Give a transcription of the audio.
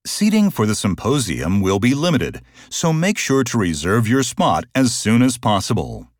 Seating for the symposium will be limited, so make sure to reserve your spot as soon as possible.